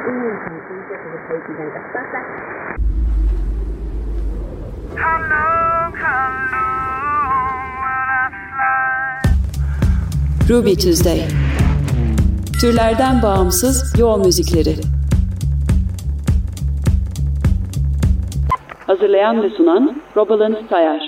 Ruby Tuesday. Türlerden bağımsız yol müzikleri. Hazırlayan ve sunan Robalyn Sayar.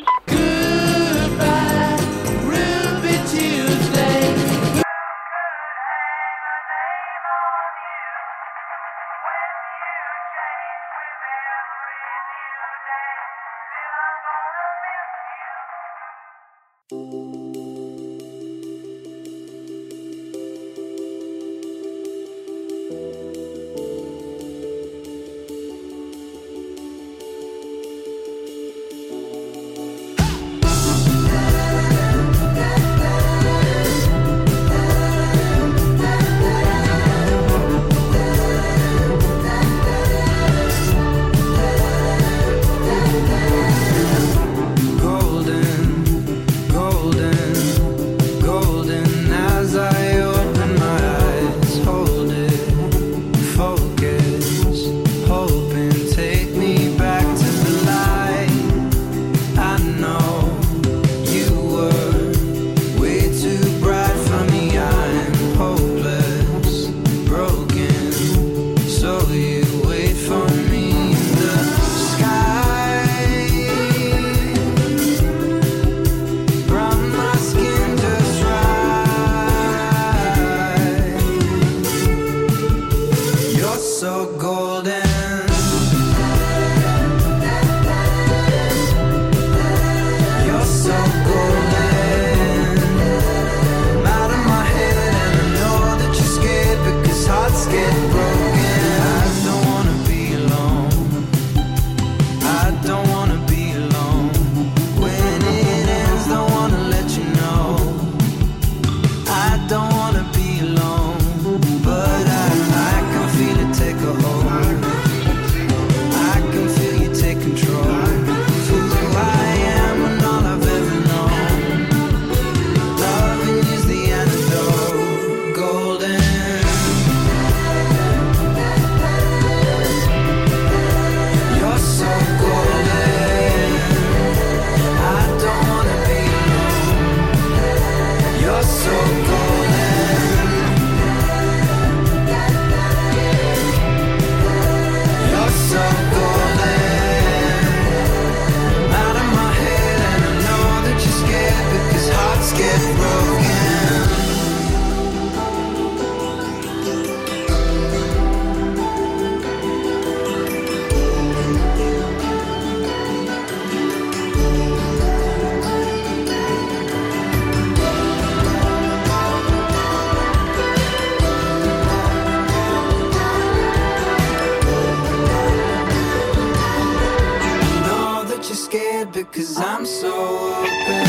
Because I'm so open.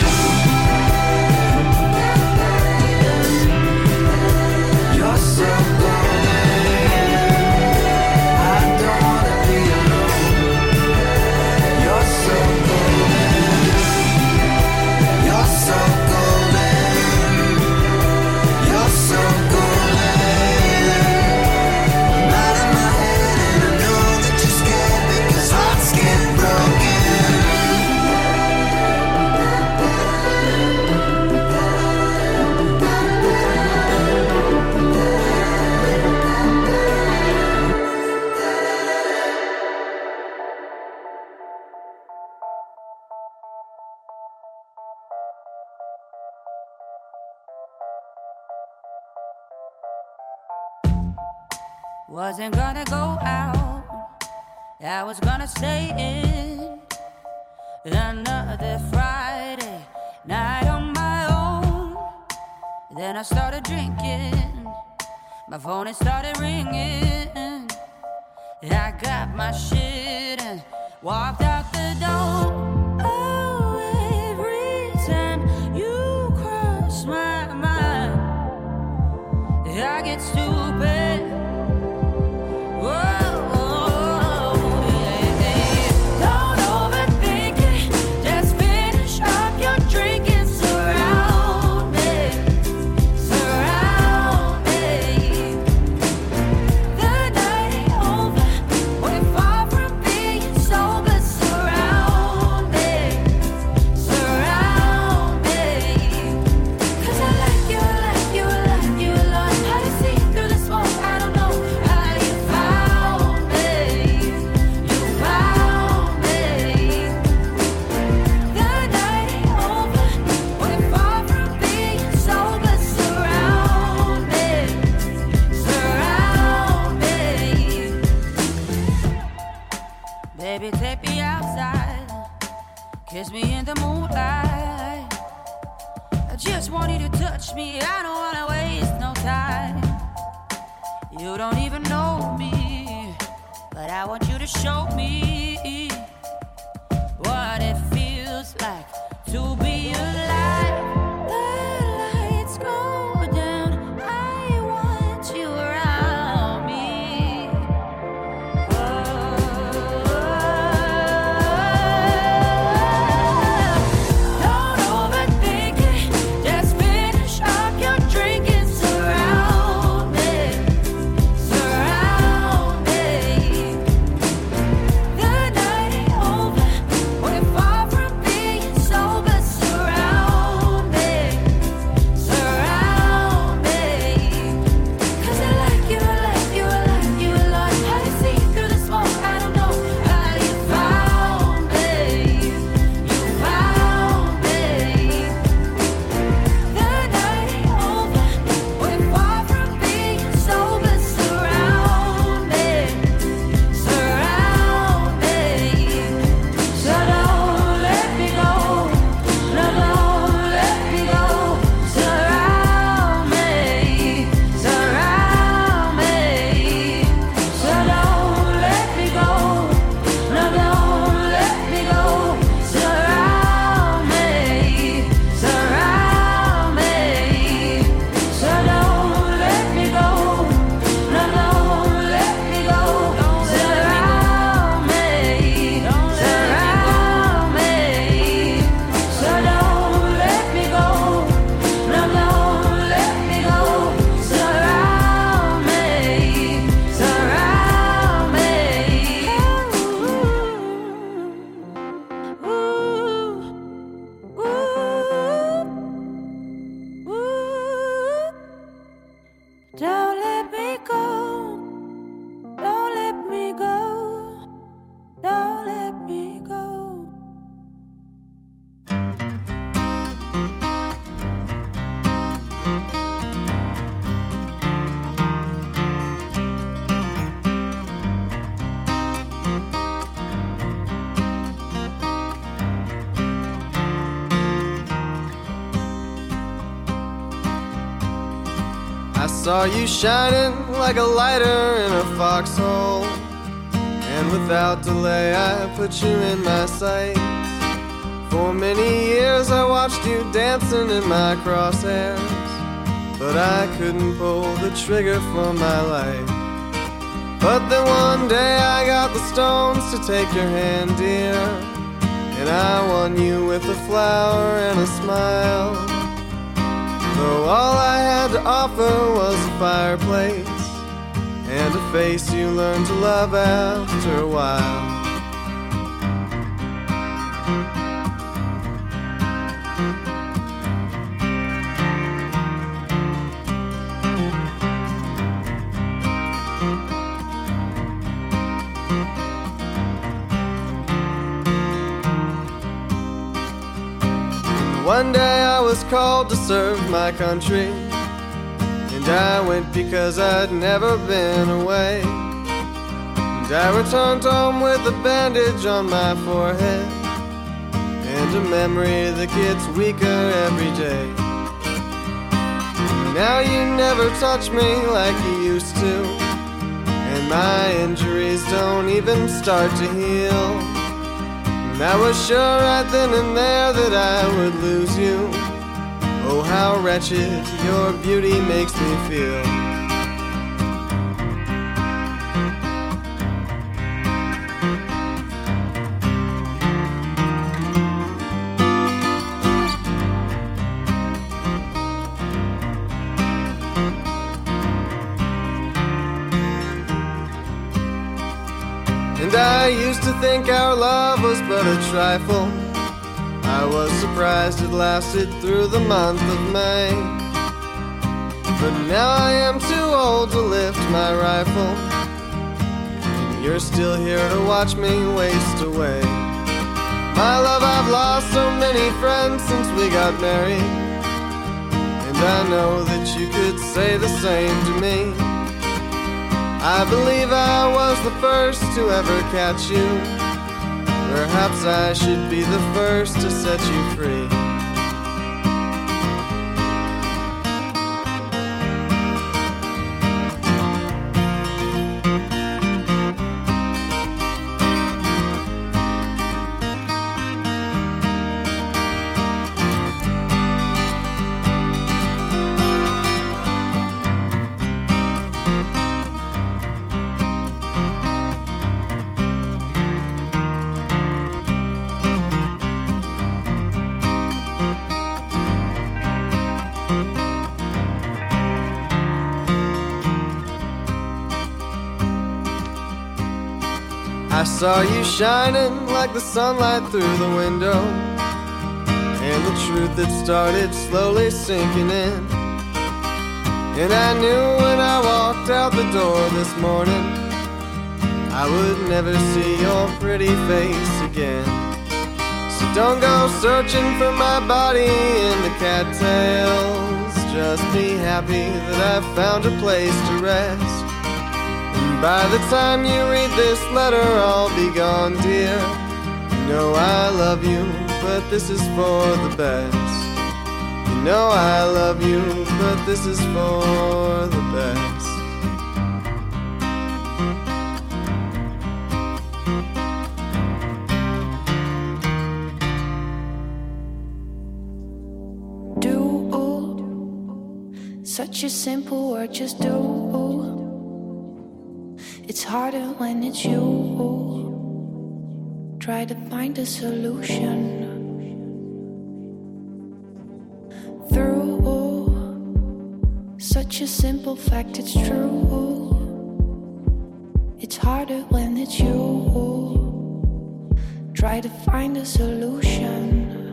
You're so golden. I don't wanna be alone. You're so golden. You're so golden. You're so golden. I'm out of my head and I know that you're scared because hearts get broken. Wasn't gonna go out, I was gonna stay in. Another Friday night on my own. Then I started drinking, my phone it started ringing. I got my shit and walked out the door. Oh, every time you cross my mind, I get stupid. The night Baby, take me outside, kiss me in the moonlight. I just want you to touch me, I don't wanna waste no time. You don't even know me, but I want you to show me what it feels like to be alive. The lights go down, I want you around me. Don't overthink it, just finish up your drink and surround me. Surround me. The night ain't over, we're far from being sober. Surround me. Surround me. 'Cause I like you, I like you, I like you a lot. How you see through the smoke, I don't know how you found me. You found me. The night ain't over, we're far from being sober. Surround me. Surround me. So don't let me go. No, don't let me go. Surround me. Surround me. So don't let me go. No, don't let me go. Surround me. Surround me. So don't let me go. No, don't let me go. Surround me. Surround me. So don't let me go. No, don't let me go. Surround me. Surround me. Don't let me go. Don't let me go. Don't let me go. I saw you shining like a lighter in a foxhole, and without delay I put you in my sight. For many years I watched you dancing in my crosshairs, but I couldn't pull the trigger for my life. But then one day I got the stones to take your hand, dear, and I won you with a flower and a smile. Though all I had to offer was a fireplace and a face you learned to love after a while. One day I was called to serve my country, and I went because I'd never been away. And I returned home with a bandage on my forehead and a memory that gets weaker every day. Now you never touch me like you used to, and my injuries don't even start to heal. And I was sure right then and there that I would lose you. Oh, how wretched your beauty makes me feel. And I used to think our love was but a trifle. I was surprised it lasted through the month of May. But now I am too old to lift my rifle, and you're still here to watch me waste away. My love, I've lost so many friends since we got married, and I know that you could say the same to me. I believe I was the first to ever catch you, Perhaps I should be the first to set you free. I saw you shining like the sunlight through the window, and the truth that started slowly sinking in. And I knew when I walked out the door this morning, I would never see your pretty face again. So don't go searching for my body in the cattails. Just be happy that I've found a place to rest. By the time you read this letter, I'll be gone, dear. You know I love you, but this is for the best. You know I love you, but this is for the best. Do, such a simple word, just do. It's harder when it's you. Try to find a solution. Through such a simple fact, it's true. It's harder when it's you. Try to find a solution.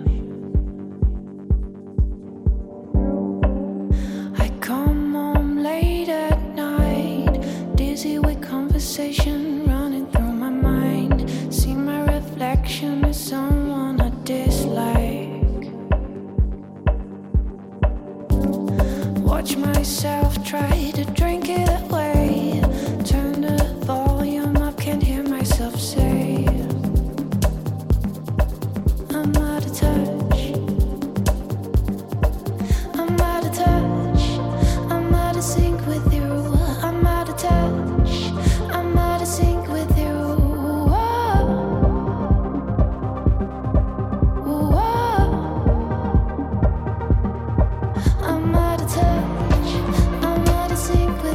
I come home late at night, dizzy with conversation running through my mind. See my reflection as someone I dislike. Watch myself try to drink it away. Turn the volume up, can't hear myself say I'm out of touch. I'm out of touch. I'm out of sync with you. I'm out of touch. I'm out of sync with you. Whoa. Whoa. I'm out of touch. I'm out of sync with you.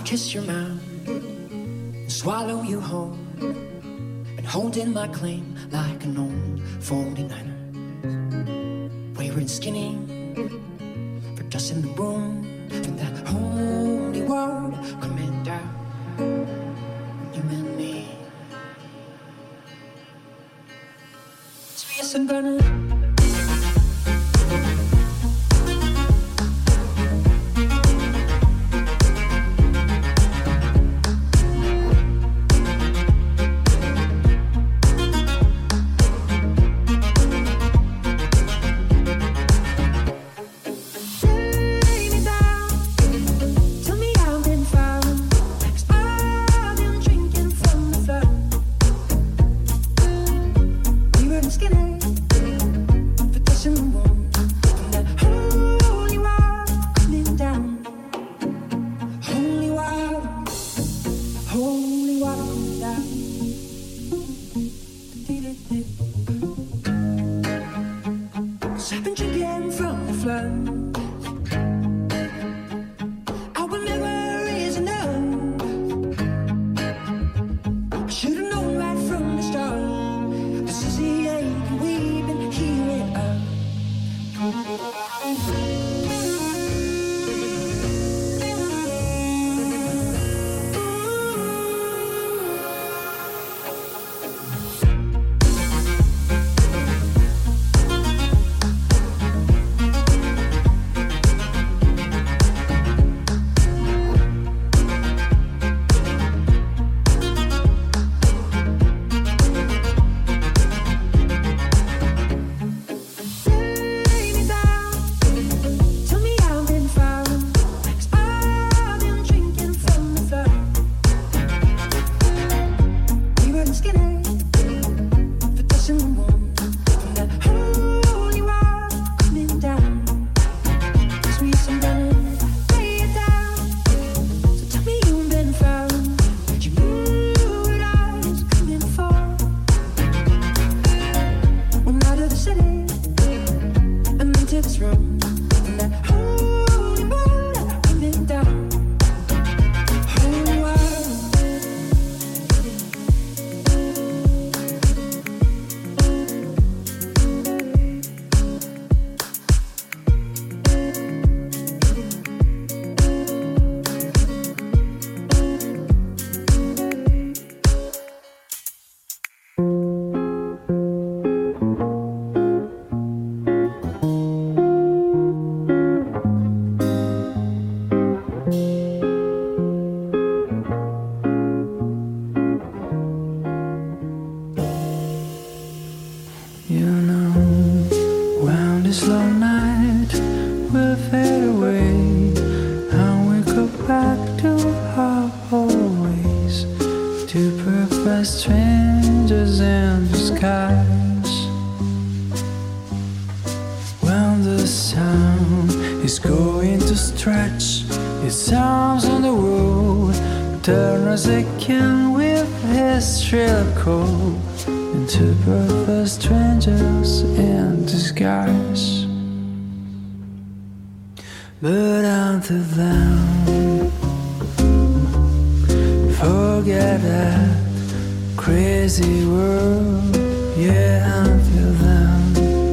kiss your mouth and swallow you whole, and hold in my claim like an old 49er. Wayward and skinny, for dust in the room, from that holy word coming down on you and me. So yes, I'm gonna strangers in disguise. When the sun is going to stretch its arms on the road, turn as they can with his shrill call into perfect strangers in disguise. But until then, forget that crazy world. Yeah, until then,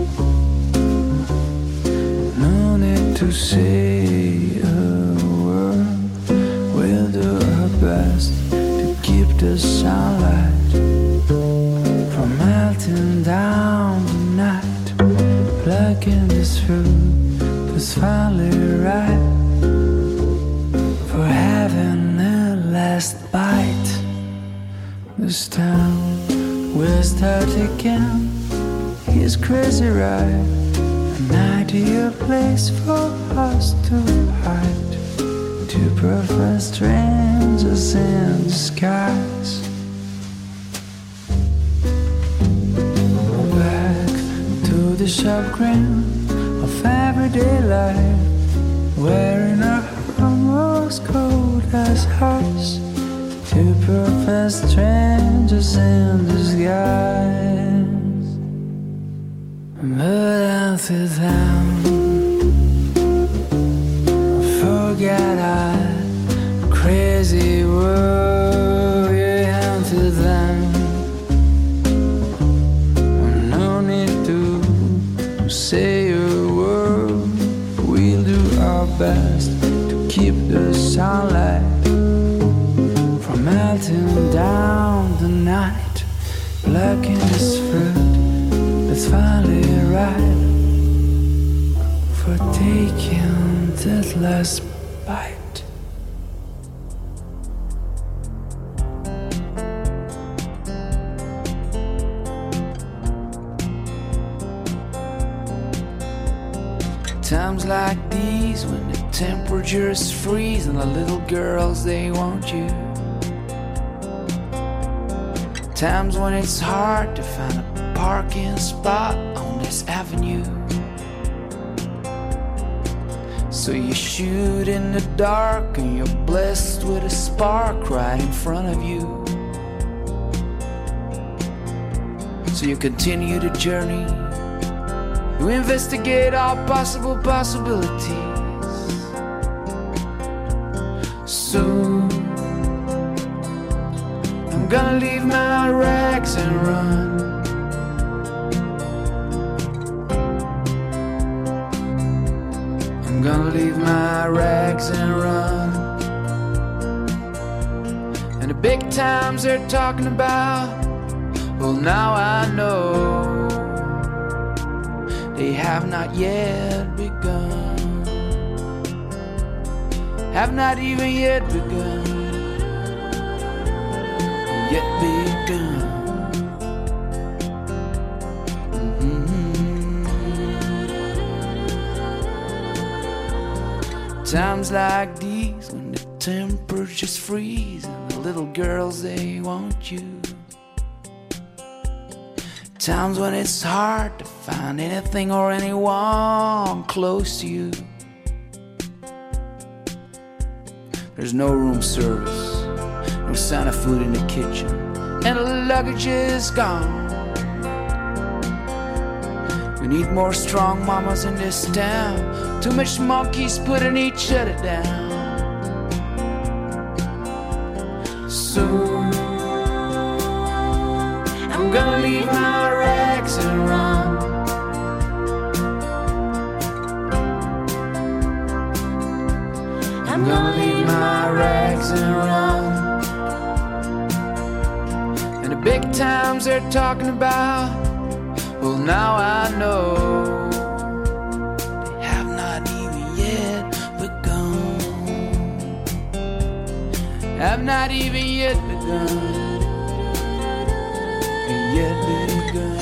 no need to say a word. We'll do our best to keep the sunlight from melting down the night. Plucking this fruit was finally ripe for having a last bite. This town will start again. He's crazy, right? An ideal place for us to hide. Two perfect strangers in disguise. Back to the sharp grin of everyday life, wearing our almost cold as hearts. Two perfect strangers in disguise. But until then, forget our crazy world you hand to them. No need to say a word. We'll do our best to keep the sunlight from melting down the night. Black in this fruit that's finally ripe for taking that last bite. Times like these when the temperatures freeze and the little girls, they want you. Times when it's hard to find a parking spot on this avenue. So you shoot in the dark and you're blessed with a spark right in front of you. So you continue the journey. You investigate all possible possibilities. Soon I'm gonna leave my rags and run. I'm gonna leave my rags and run. And the big times they're talking about, well, now I know they have not yet begun. Have not even yet begun. Yet begun. Times like these when the temperatures freeze and the little girls, they want you. Times when it's hard to find anything or anyone close to you. There's no room service, no sign of food in the kitchen, and the luggage is gone. We need more strong mamas in this town. Too much monkeys putting each other down. Soon I'm gonna leave my rags and run. I'm gonna leave my rags and run. And the big times they're talking about, well, now I know they have not even yet begun. Have not even yet begun. Yet begun.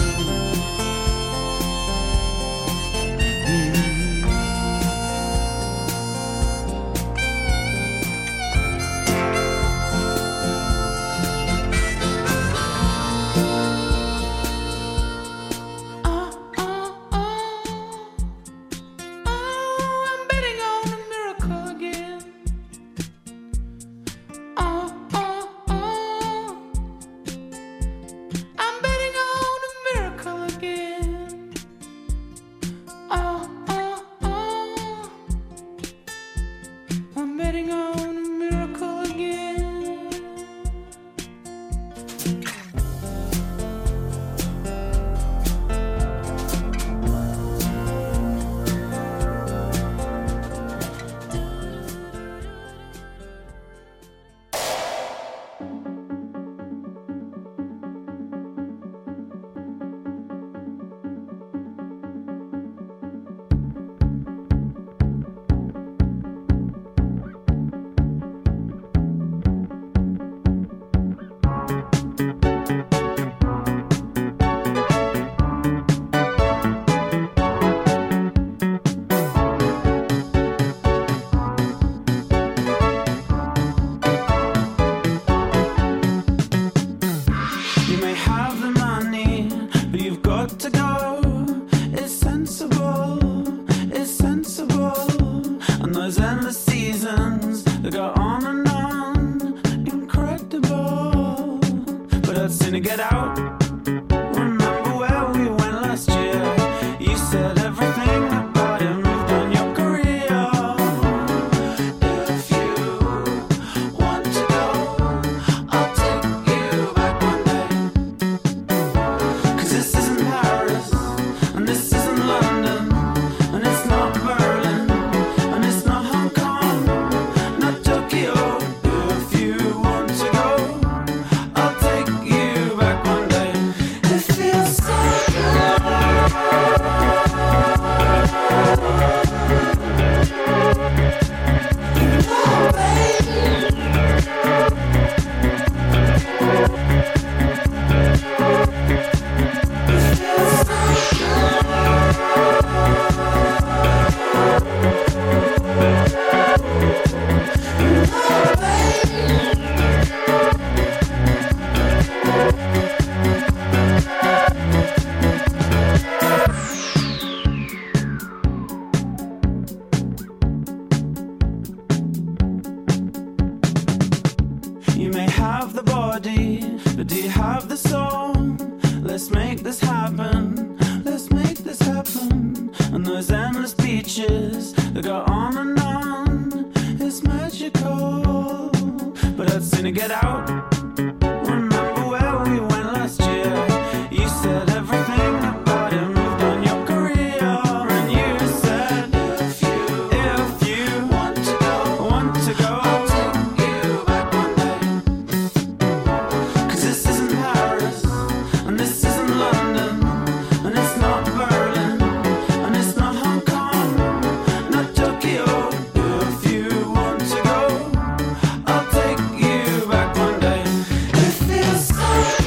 get out. Remember where we went last year? You said everything about it moved on your career, and you said if you want to go, I'll take you back one day. 'Cause this isn't Paris, and this isn't London, and it's not Berlin, and it's not Hong Kong, not Tokyo. If you want to go, I'll take you back one day. It feels so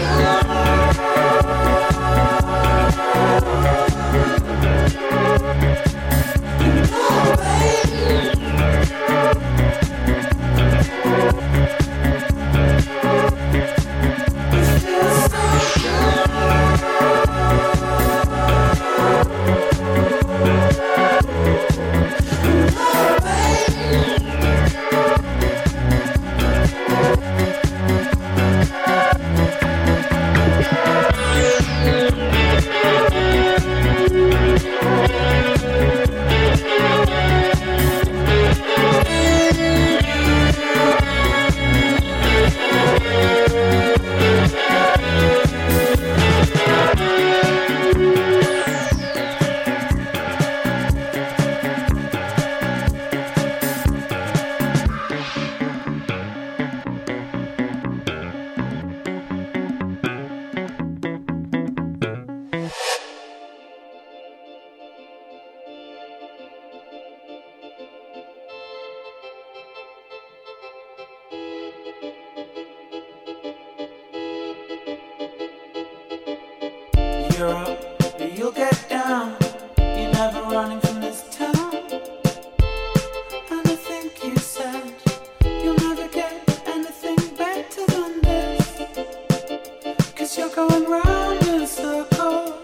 Europe, you'll get down. You're never running from this town. And I think you said you'll never get anything better than this. 'Cause you're going round in circles,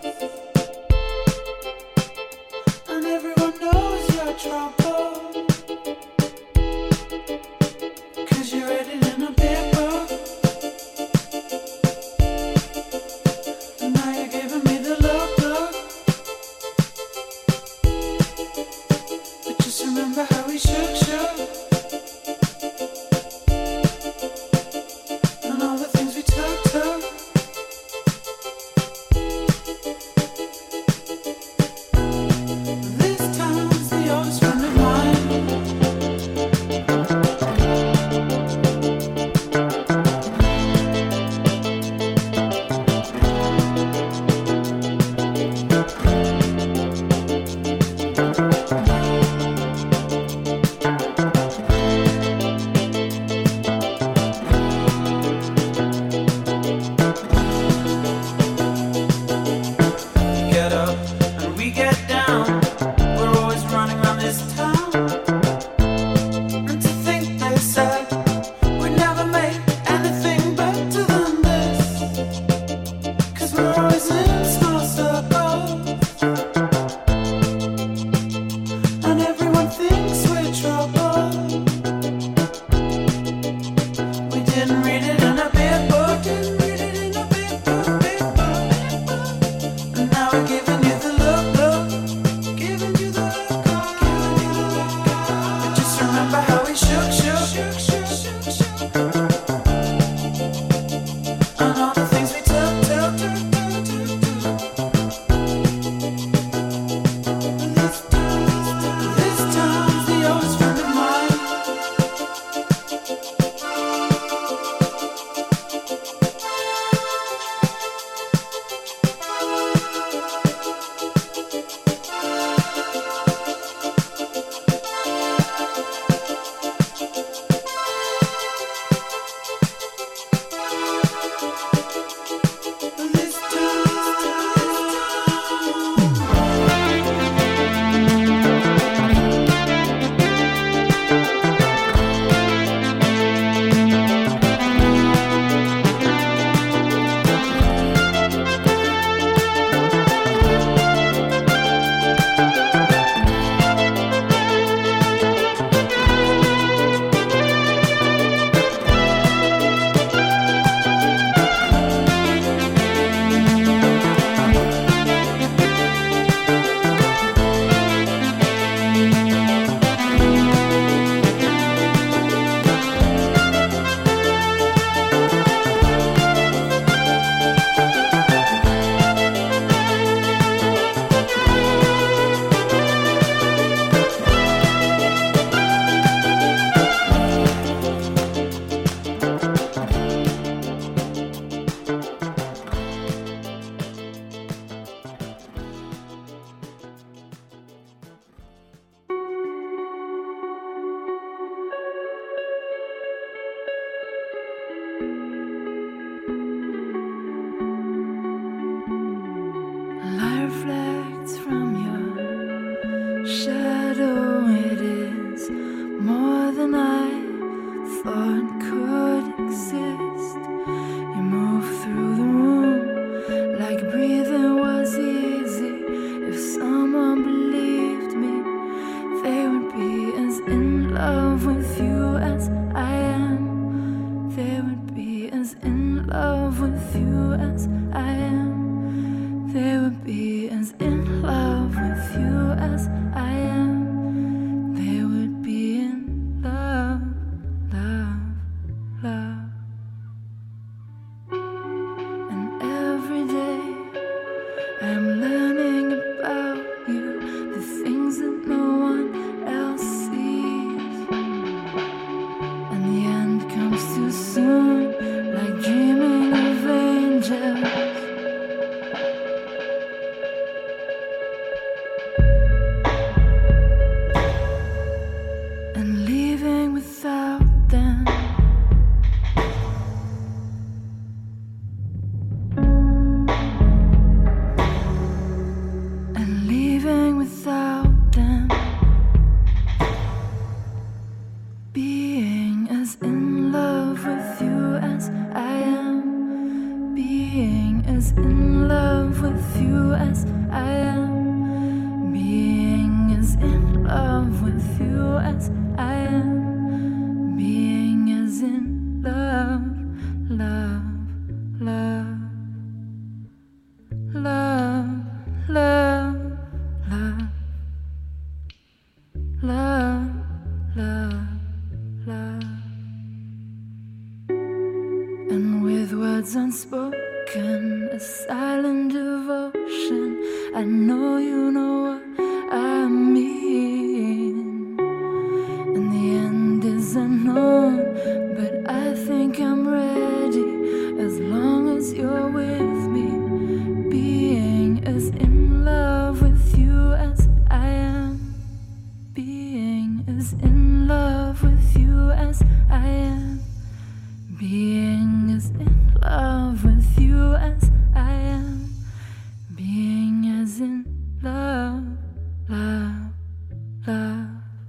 and everyone knows your trouble. 'Cause you read it in a big book. And now you're giving me the look. But just remember how we shook. And all the things we took. This town's the oldest friend of mine. and leaving without them. And leaving without them. Being as in love with you as I am. Being as in love with you as I am. Being as in love with you as I am. Being as in love, love, love, love, love, love, love, love, love. And with words unspoken, a silent devotion, I know you know what I mean. And the end is unknown, but I think I'm ready as long as you're with me. Being as in love with you as I am. Being as in love with you as I am. Being as in love with you as I am. Being as in love, love, love.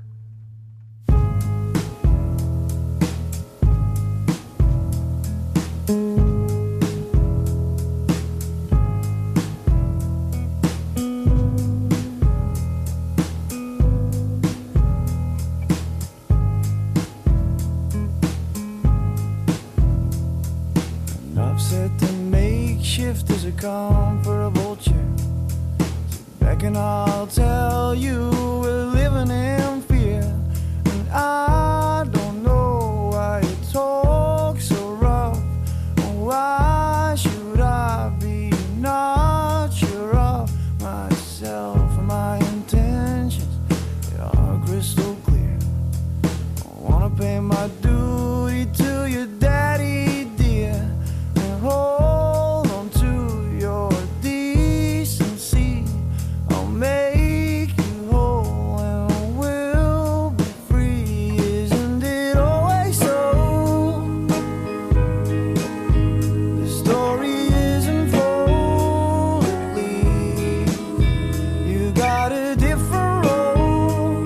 Enough said to make shift is a comfortable chair. Sit back and I'll tell you we're living in fear. And I don't know why you talk so rough. Why should I be not sure of myself and my intentions? They are crystal clear. I wanna pay my duty to your daddy, dear. Hold on to your decency. I'll make you whole and we'll be free. Isn't it always so? The story isn't full, at least. You got a different role,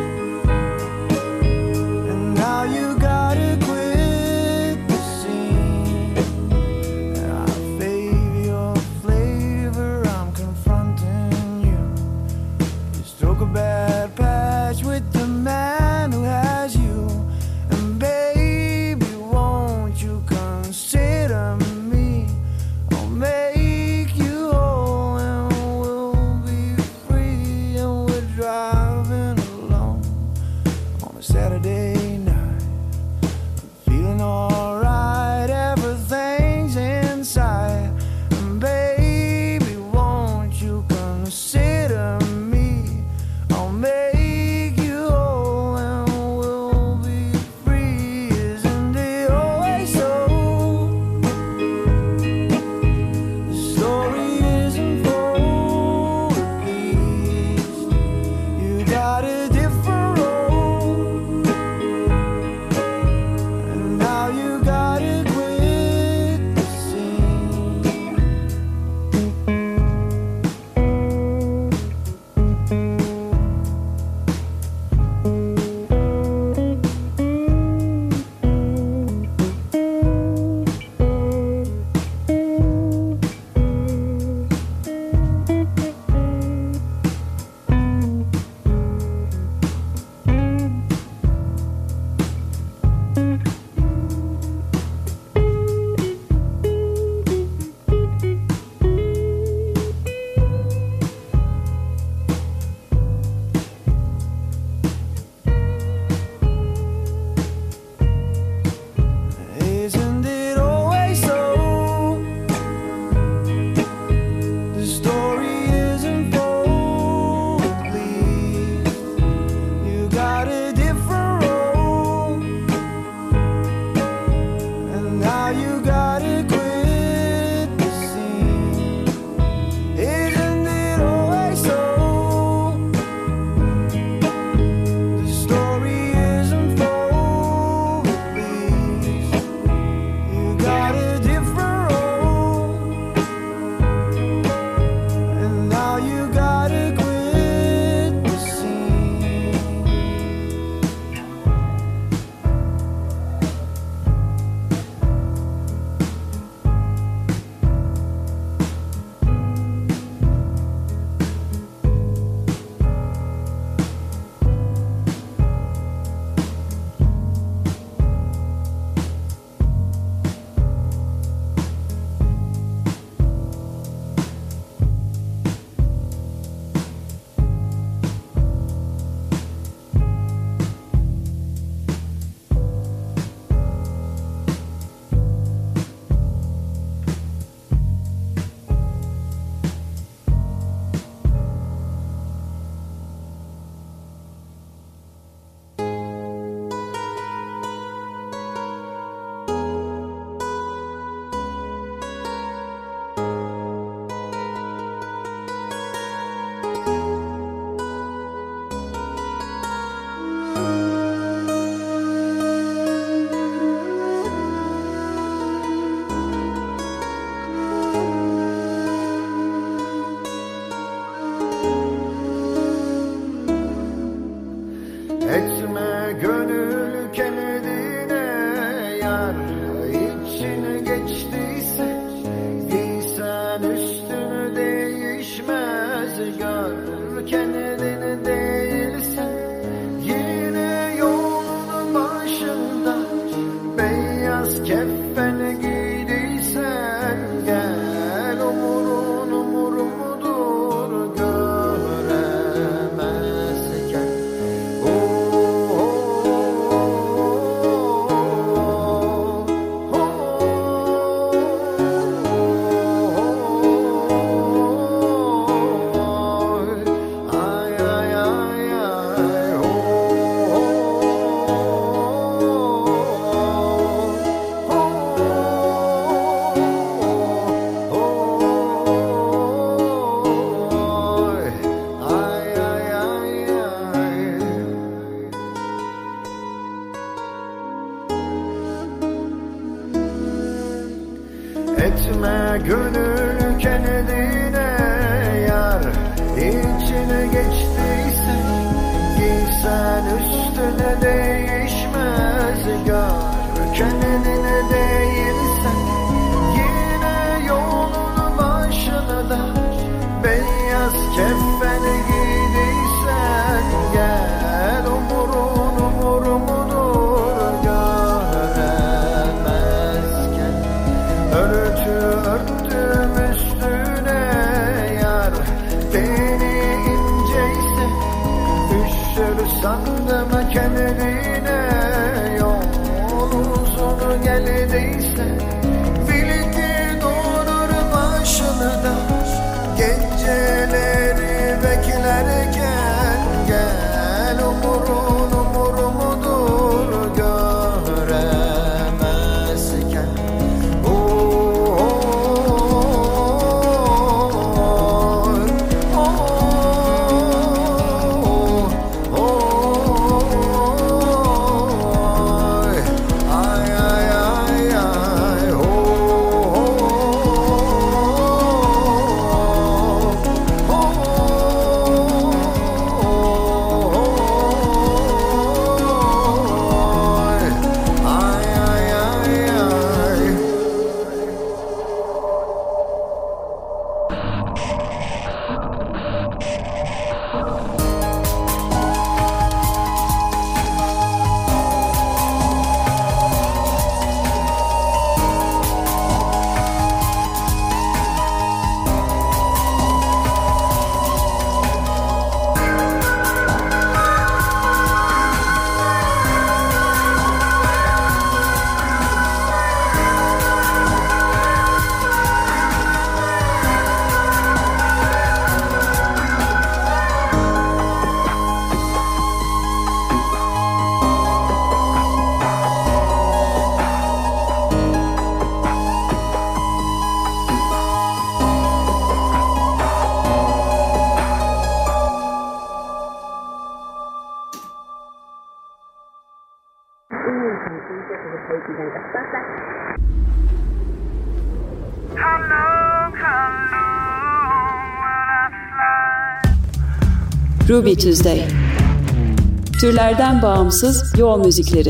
and now you gotta quit the scene. I favor your flavor, I'm confronting you. You stroke a bad patch with the man who has you. And baby, won't you consider me? I'll make you whole and we'll be free. And we're driving alone on a Saturday night. Feeling alright, everything's inside. And baby, won't you consider me? I'll make you whole and we'll be free. Isn't it always so? The story isn't full, at least. You got a different role, and now you Etme gönül kendine yar, içine geçtiyse giysen üstüne değişmez gör. Kendine değilsen yine yolun başına da beyaz kefen giydiysen gel, umur mudur göremezken örtüm üstüne yar, beni inceyse üşür sandım kendine, yol uzun geldiyse bil ki durur başını da geceleri beklerken gel, umur mudur göremezken. Ruby Tuesday. Türlerden bağımsız yol müzikleri.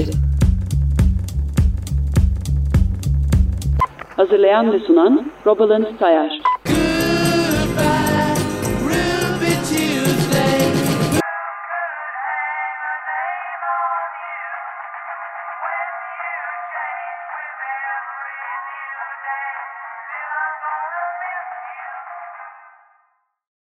Hazırlayan ve sunan Rosalind Sayar.